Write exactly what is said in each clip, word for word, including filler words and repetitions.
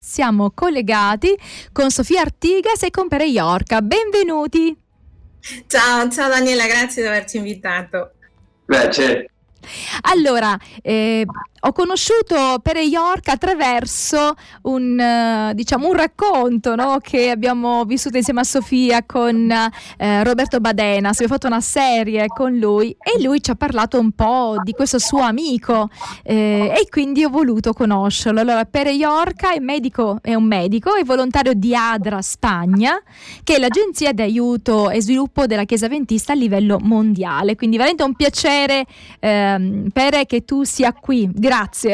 siamo collegati con Sofia Artigas e con Pere Iorca. Benvenuti. Ciao, ciao Daniela, grazie di averci invitato. Grazie. Allora, eh, ho conosciuto Pere Iorca attraverso un, uh, diciamo, un racconto, no? Che abbiamo vissuto insieme a Sofia con uh, Roberto Badenas. Abbiamo fatto una serie con lui e lui ci ha parlato un po' di questo suo amico eh, e quindi ho voluto conoscerlo. Allora, Pere Iorca è medico, è un medico, è volontario di ADRA Spagna, che è l'agenzia di aiuto e sviluppo della Chiesa Adventista a livello mondiale. Quindi veramente un piacere, ehm, Pere, che tu sia qui. Grazie.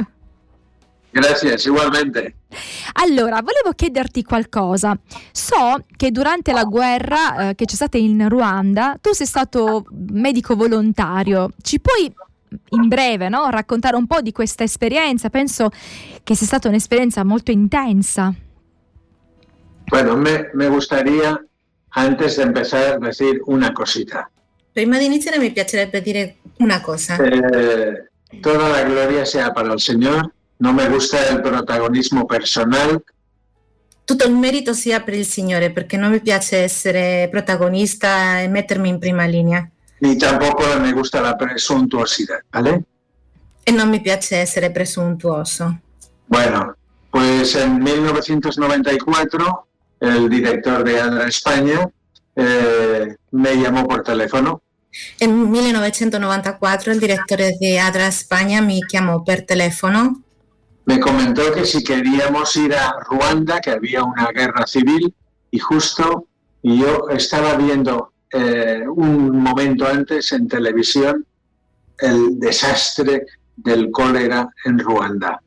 Grazie, ugualmente. Allora, volevo chiederti qualcosa. So che durante la guerra eh, che c'è stata in Ruanda, tu sei stato medico volontario. Ci puoi in breve, no, raccontare un po' di questa esperienza? Penso che sia stata un'esperienza molto intensa. Bueno, me, me gustaría, antes de empezar, decir una cosita. Prima di iniziare mi piacerebbe dire una cosa. Eh, Toda la gloria sea para el Señor. No me gusta el protagonismo personal. Tutto il merito sia per il Signore, perché non mi piace essere protagonista e mettermi in prima linea. Ni tampoco me gusta la presuntuosidad, ¿vale? E non mi piace essere presuntuoso. Bueno, pues en mil novecientos noventa y cuatro el director de ADRA España eh, me llamó por teléfono. Nel millenovecentonovantaquattro il direttore di ADRA Spagna mi chiamò per telefono. Me comentó que si queríamos ir a Ruanda, que había una guerra civil, y justo y yo estaba viendo eh, un momento antes en televisión el desastre del cólera en Ruanda.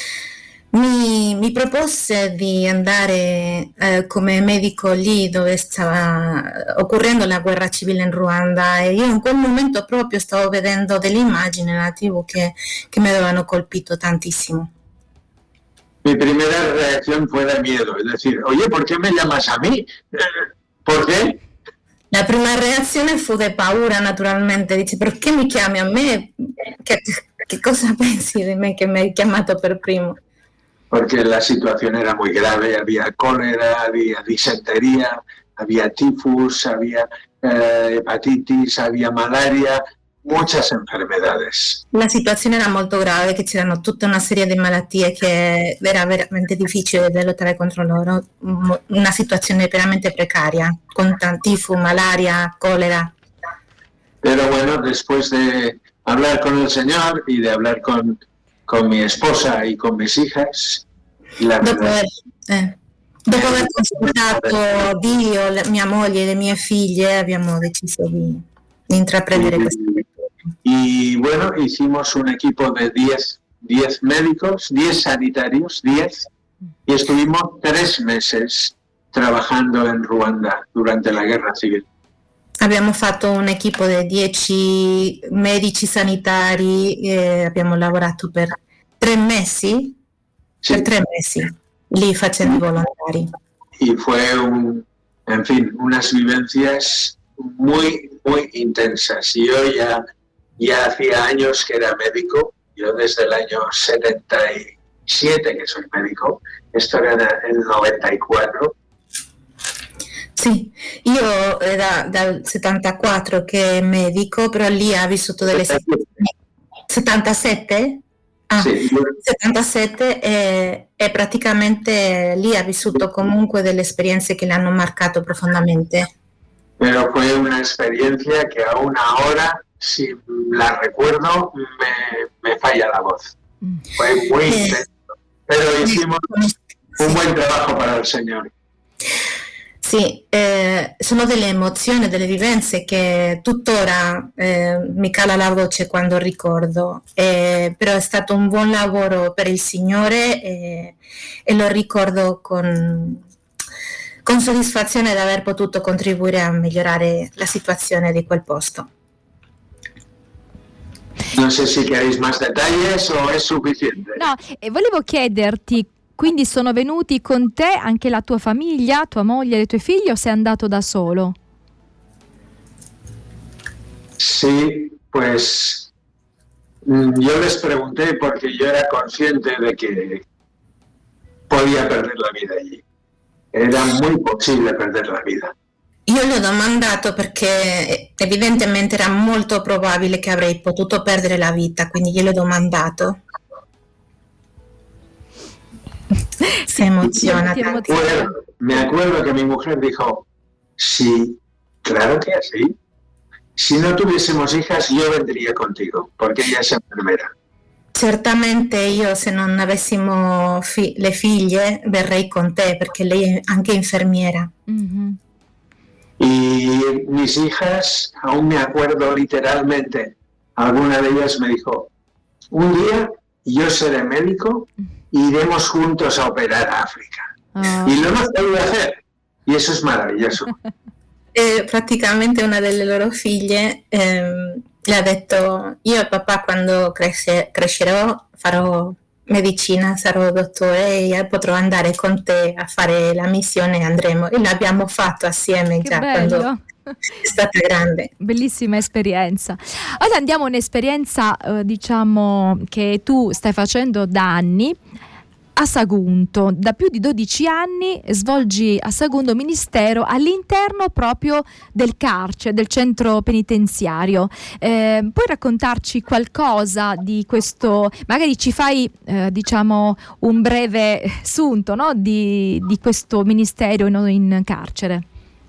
Mi, mi propose di andare eh, come medico lì dove stava occorrendo la guerra civile in Ruanda e io in quel momento proprio stavo vedendo delle immagini nella tivù che, che mi avevano colpito tantissimo. Mi primera reacción fue de miedo, es decir, oye, ¿por qué me llamas a mí? ¿Por qué? La prima reazione fu di paura, naturalmente, dice, perché mi chiami a me? Che, che cosa pensi di me che mi hai chiamato per primo? Porque la situación era muy grave, había cólera, había disentería, había tifus, había eh, hepatitis, había malaria, muchas enfermedades. La situazione era molto grave, che c'erano tutta una serie di malattie che era veramente difficile da lottare contro loro, una situazione veramente precaria, con tifus, malaria, cólera. Pero bueno, después de hablar con el Señor y de hablar con con mi esposa y con mis hijas. La dopo, aver, eh, dopo aver consultato Dio, la, mia moglie e le mie figlie, abbiamo deciso di, di intraprendere y, questo. Y bueno, hicimos un equipo de diez médicos, diez sanitarios, diez, y estuvimos tres meses trabajando en Ruanda durante la guerra civil. Abbiamo fatto un equipo di dieci medici sanitari e abbiamo lavorato per tre mesi, sí. per tre mesi, lì facendo i volontari. Y fue, un, en fin, unas vivencias muy, muy intensas. Yo ya, ya hacía años que era médico, yo desde el año setenta y siete que soy médico, esto era en el noventa y cuatro. Sì, io da, dal settantaquattro che è medico, però lì ha vissuto delle settantasette? Ah, sì. settantasette e, e praticamente lì ha vissuto comunque delle esperienze che le hanno marcato profondamente. Pero fue una experiencia que aún ahora, si la recuerdo, me, me falla la voz. Fue muy eh, intenso, pero hicimos un buen trabajo para el Señor. Sì, eh, sono delle emozioni, delle vivenze che tuttora eh, mi cala la voce quando ricordo, eh, però è stato un buon lavoro per il Signore e, e lo ricordo con, con soddisfazione di aver potuto contribuire a migliorare la situazione di quel posto. Non so se queréis más detalles o è sufficiente. No, e volevo chiederti, quindi sono venuti con te anche la tua famiglia, tua moglie e i tuoi figli, o sei andato da solo? Sí, pues yo les pregunté porque yo era consciente de que podía perder la vida allí. Era muy possibile perdere la vita. Io gli ho domandato perché evidentemente era molto probabile che avrei potuto perdere la vita, quindi gliel'ho domandato. Se emociona. Bueno, me acuerdo que mi mujer dijo, sí, claro que sí. Si no tuviésemos hijas, yo vendría contigo, porque ella es enfermera. Certamente io, se non avessimo fi- le figlie, verrei con te, perché lei è anche infermiera. Mhm. Y mis hijas, aún me acuerdo literalmente, alguna de ellas me dijo, un día yo seré médico y iremos juntos a operar a África. Ah. Y lo hemos podido hacer. Y eso es maravilloso. E praticamente una delle loro figlie ehm, le ha detto, io e papà quando cresce- crescerò farò medicina, sarò dottore e potrò andare con te a fare la missione e andremo. E l'abbiamo fatto assieme Che già bello. quando è stata grande. Bellissima esperienza. Ora andiamo a un'esperienza, eh, diciamo, che tu stai facendo da anni a Sagunto. Da più di dodici anni svolgi a Sagunto ministero all'interno proprio del carcere, del centro penitenziario. Eh, puoi raccontarci qualcosa di questo? Magari ci fai, eh, diciamo, un breve sunto, no? di, di questo ministero in, in carcere.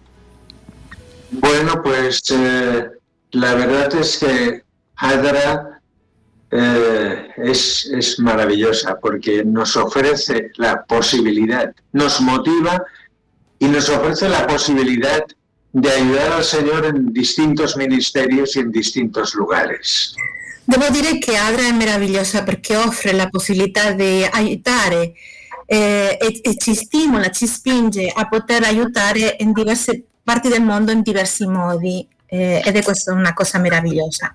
Bueno, pues eh, la verdad es que Adra eh, es, es maravillosa porque nos ofrece la posibilidad, nos motiva y nos ofrece la posibilidad de ayudar al Señor en distintos ministerios y en distintos lugares. Devo dire che Adra è meravigliosa perché offre la possibilità di aiutare eh, e, e ci stimola, ci spinge a poter aiutare in diverse parti del mondo in diversi modi eh, ed è questa una cosa meravigliosa.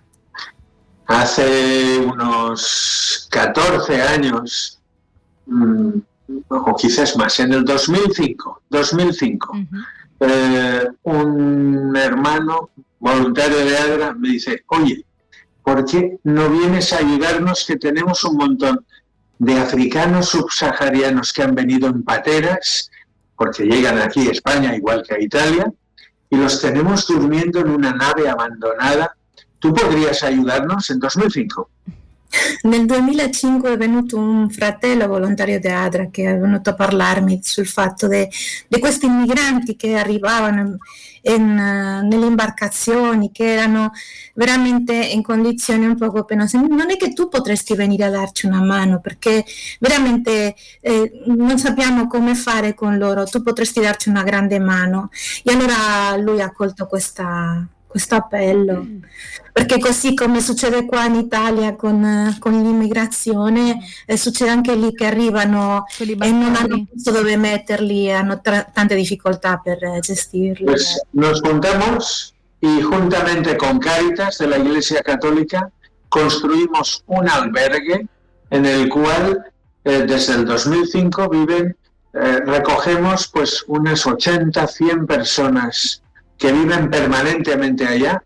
Hace unos catorce años, mmm, o quizás más, en el dos mil cinco, dos mil cinco uh-huh. eh, un hermano voluntario de Adra me dice, oye, ¿por qué no vienes a ayudarnos que tenemos un montón de africanos subsaharianos que han venido en pateras, porque llegan aquí a España igual que a Italia, y los tenemos durmiendo en una nave abandonada? ¿Tú podrías ayudarnos? En dos mil cinco. Nel duemilacinque è venuto un fratello volontario di Adra che è venuto a parlarmi sul fatto di questi immigranti che arrivavano in, uh, nelle imbarcazioni, che erano veramente in condizioni un poco penose. Non è che tu potresti venire a darci una mano, perché veramente eh, non sappiamo come fare con loro, tu potresti darci una grande mano. E allora lui ha colto questa... questo appello, mm. perché così come succede qua in Italia con, con l'immigrazione, eh, succede anche lì che arrivano e non hanno posto dove metterli, hanno tra- tante difficoltà per eh, gestirli. Pues nos juntamos y juntamente con Cáritas de la Iglesia Católica construimos un albergue en el cual eh, desde el dos mil cinco viven, eh, recogemos pues unas ochenta, cien personas que viven permanentemente allá,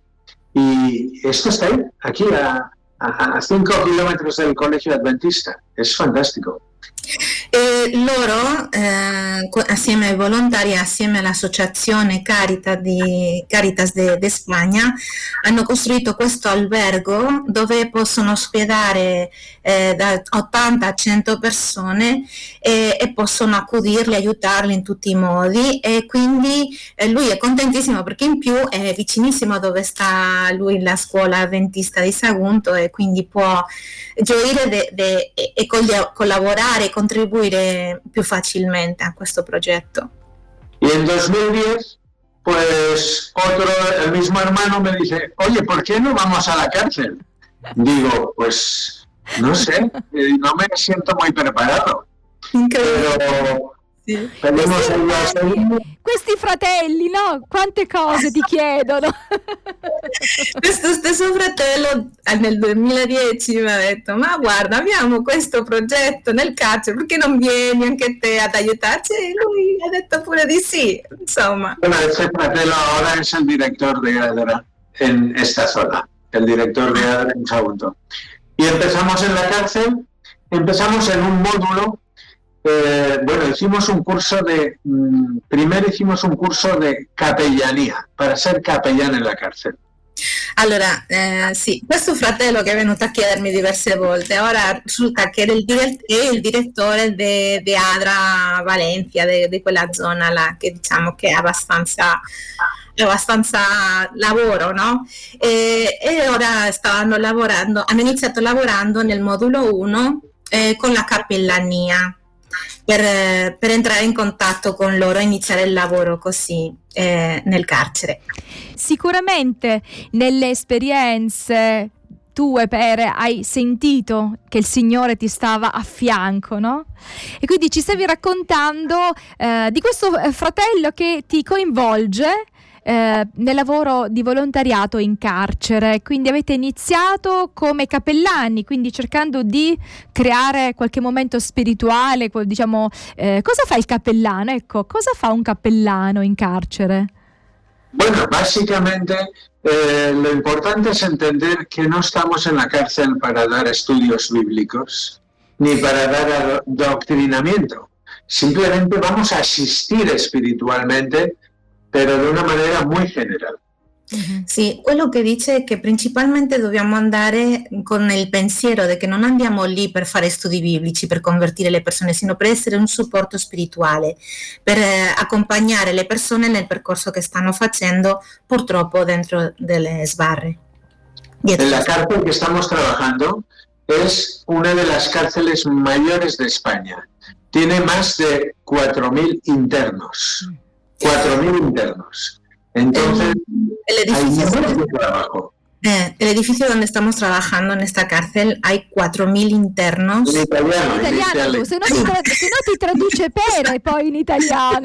y esto está ahí, aquí a, a, a cinco kilómetros del colegio adventista. Es fantástico. E loro, eh, assieme ai volontari, assieme all'associazione Caritas di, Caritas de, de Spagna, hanno costruito questo albergo dove possono ospedare eh, da ottanta a cento persone e, e possono accudirli, aiutarli in tutti i modi, e quindi eh, lui è contentissimo perché in più è vicinissimo dove sta lui, la scuola adventista di Sagunto, e quindi può gioire de, de, e, e collaborare e contribuire più facilmente a questo progetto. Y en dos mil diez, pues otro, el mismo hermano me dice, oye, ¿por qué no vamos a la cárcel? Digo, pues no sé, no me siento muy preparado. Pero sì. Questi, questi fratelli, no? Quante cose ti chiedono. Questo stesso fratello nel duemiladieci mi ha detto, ma guarda, abbiamo questo progetto nel carcere, perché non vieni anche te ad aiutarci? E lui ha detto pure di sì, insomma. Bueno, este fratello ahora es el director de Adra en esta zona, el director de Adra en Sagunto. Y empezamos en la cárcel, empezamos en un módulo eh, bueno, hicimos un curso de, mh, primero hicimos un curso de capellanía, para ser capellán en la cárcel. Allora, eh, sì, questo fratello che è venuto a chiedermi diverse volte, ora risulta che era il dire- è il direttore di Adra Valencia, di quella zona là, che diciamo che è abbastanza, è abbastanza lavoro, no? E, e ora stavano lavorando, hanno iniziato lavorando nel modulo uno eh, con la cappellania. Per, per entrare in contatto con loro e iniziare il lavoro così eh, nel carcere. Sicuramente nelle esperienze tue, Pere, hai sentito che il Signore ti stava a fianco, no? E quindi ci stavi raccontando eh, di questo fratello che ti coinvolge Eh, nel lavoro di volontariato in carcere. Quindi avete iniziato come cappellani, quindi cercando di creare qualche momento spirituale, diciamo, eh, cosa fa il cappellano? Ecco, cosa fa un cappellano in carcere? Bueno, básicamente eh, lo importante es entender que no estamos en la cárcel para dar estudios bíblicos ni para dar adoctrinamiento. Simplemente vamos a asistir espiritualmente, però di una maniera molto generale. Sì, quello che dice è che principalmente dobbiamo andare con il pensiero di che non andiamo lì per fare studi biblici, per convertire le persone, sino per essere un supporto spirituale, per eh, accompagnare le persone nel percorso che stanno facendo, purtroppo dentro delle sbarre. Dietro. En la cárcel que estamos trabajando es una de las cárceles mayores de España. Tiene más de cuatro mil internos. cuatro mil internos. Entonces, el, el edificio hay mucho trabajo. Eh, el edificio donde estamos trabajando en esta cárcel hay cuatro mil internos. In italiano, in italiano in se, no ti tra- se no ti traduce Pere poi in italiano.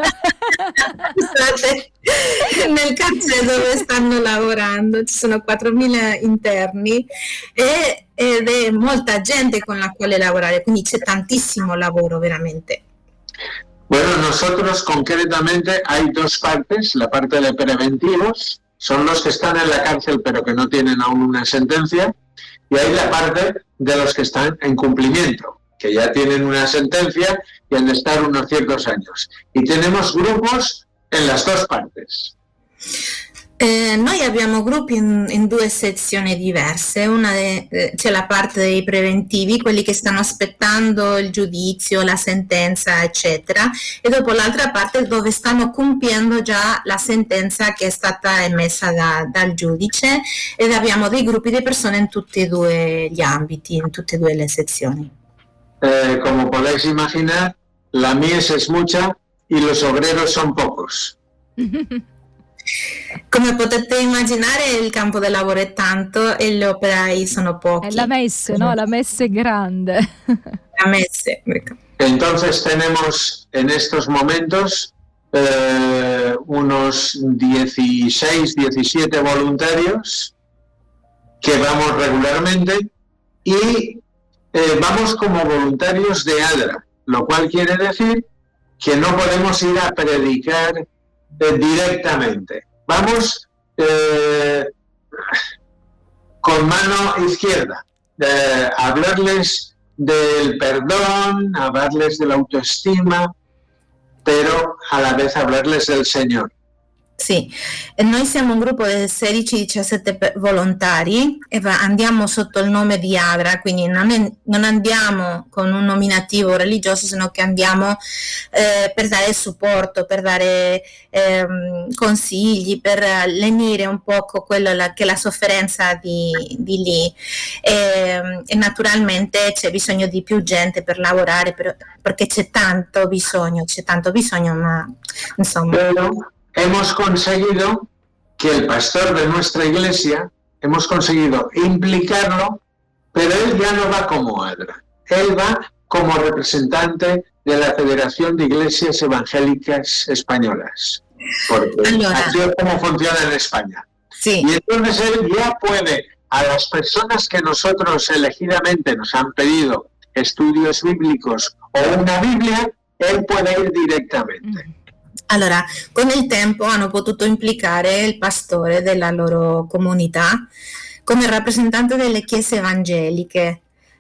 Nel carcere dove stanno lavorando ci sono quattromila interni e, ed è molta gente con la quale lavorare, quindi c'è tantissimo lavoro veramente. Bueno, nosotros concretamente hay dos partes, la parte de preventivos, son los que están en la cárcel pero que no tienen aún una sentencia, y hay la parte de los que están en cumplimiento, que ya tienen una sentencia y han de estar unos ciertos años. Y tenemos grupos en las dos partes. Eh, noi abbiamo gruppi in, in due sezioni diverse, una de, eh, c'è la parte dei preventivi, quelli che stanno aspettando il giudizio, la sentenza eccetera, e dopo l'altra parte dove stanno compiendo già la sentenza che è stata emessa da, dal giudice, ed abbiamo dei gruppi di persone in tutti e due gli ambiti, in tutte e due le sezioni. Eh, como podéis imaginar, la mies es mucha y los obreros son pocos. Come potete immaginare, il campo di lavoro è tanto e gli operai sono pochi. È la messe, ¿no? La messe grande. La messe. Entonces tenemos en estos momentos eh, unos dieciséis, diecisiete voluntarios que vamos regularmente y eh, vamos como voluntarios de Adra, lo cual quiere decir que no podemos ir a predicar eh, directamente. Vamos eh, con mano izquierda, eh, a hablarles del perdón, a hablarles de la autoestima, pero a la vez hablarles del Señor. Sì, e noi siamo un gruppo di sedici diciassette volontari e va, andiamo sotto il nome di Adra, quindi non, è, non andiamo con un nominativo religioso, sino che andiamo eh, per dare supporto, per dare eh, consigli, per lenire un poco quello la, che è la sofferenza di, di lì e, e naturalmente c'è bisogno di più gente per lavorare per, perché c'è tanto bisogno, c'è tanto bisogno, ma insomma... Pero hemos conseguido que el pastor de nuestra iglesia, hemos conseguido implicarlo, pero él ya no va como Adra, él va como representante de la Federación de Iglesias Evangélicas Españolas, porque allora, así es como funciona en España. Sí. Y entonces él ya puede, a las personas que nosotros elegidamente nos han pedido estudios bíblicos o una Biblia, él puede ir directamente. Allora, con il tempo hanno potuto implicare il pastore della loro comunità come rappresentante delle chiese evangeliche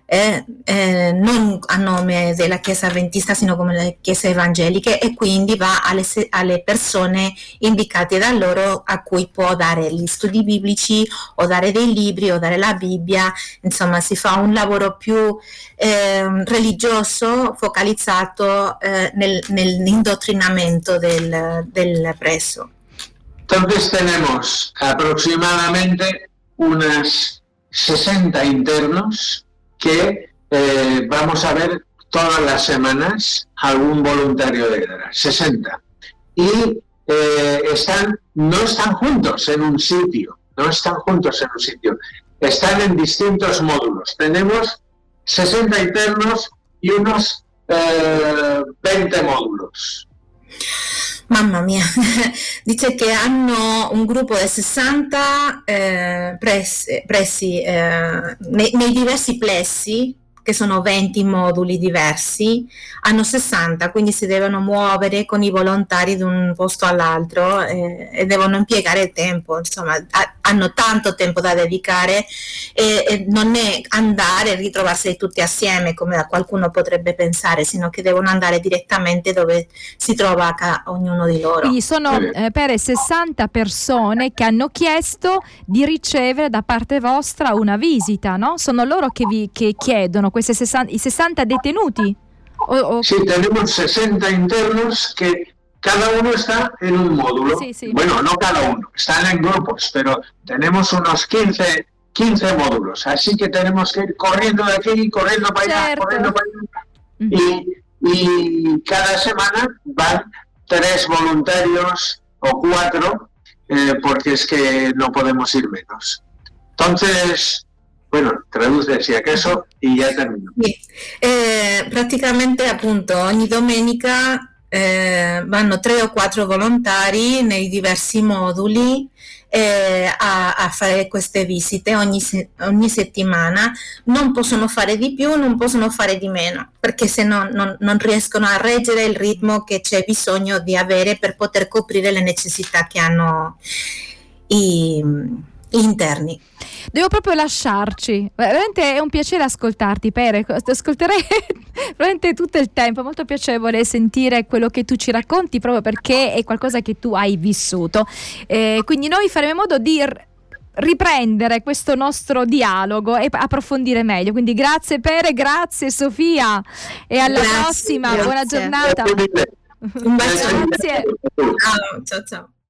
eh, eh, non a nome della Chiesa Adventista, sino come le chiese evangeliche, e quindi va alle, alle persone indicate da loro, a cui può dare gli studi biblici o dare dei libri o dare la Bibbia. Insomma, si fa un lavoro più eh, religioso, focalizzato eh, nel, nell'indottrinamento del, del preso. Entonces tenemos aproximadamente unas sesenta internos que eh, vamos a ver todas las semanas algún voluntario de guerra, sesenta. Y eh, están, no están juntos en un sitio, no están juntos en un sitio, están en distintos módulos. Tenemos sesenta internos y unos eh, veinte módulos. Mamma mia, dice che hanno un gruppo di sessanta eh, pressi, pressi eh, nei, nei diversi plessi, che sono venti moduli diversi, hanno sessanta, quindi si devono muovere con i volontari da un posto all'altro eh, e devono impiegare tempo, insomma ha, hanno tanto tempo da dedicare e, e non è andare e ritrovarsi tutti assieme come qualcuno potrebbe pensare, sino che devono andare direttamente dove si trova ca- ognuno di loro. Quindi sono eh, per sessanta persone che hanno chiesto di ricevere da parte vostra una visita, no? Sono loro che vi che chiedono, questi sessanta, i sessanta detenuti? O, o... Sí, tenemos sesenta internos que cada uno está en un módulo. Sí, sí. Bueno, no cada uno, están en grupos, pero tenemos unos quince, quince módulos, así que tenemos que ir corriendo de aquí, corriendo para allá, Certo. corriendo para allá. Mm-hmm. Y, y cada semana van tres voluntarios o cuatro, eh, porque es que no podemos ir menos. Entonces, bueno, traduce si acaso y ya termino. Sì. Eh, praticamente appunto ogni domenica eh, vanno tre o quattro volontari nei diversi moduli eh, a, a fare queste visite ogni, se- ogni settimana. Non possono fare di più, non possono fare di meno, perché se no non, non riescono a reggere il ritmo che c'è bisogno di avere per poter coprire le necessità che hanno i, gli interni. Devo proprio lasciarci, veramente è un piacere ascoltarti, Pere, ascolterei veramente tutto il tempo, è molto piacevole sentire quello che tu ci racconti, proprio perché è qualcosa che tu hai vissuto, eh, quindi noi faremo in modo di r- riprendere questo nostro dialogo e approfondire meglio, quindi grazie Pere, grazie Sofia e alla Grazie, prossima, grazie. buona giornata. Un bacio. Grazie. Ciao, ciao, ciao.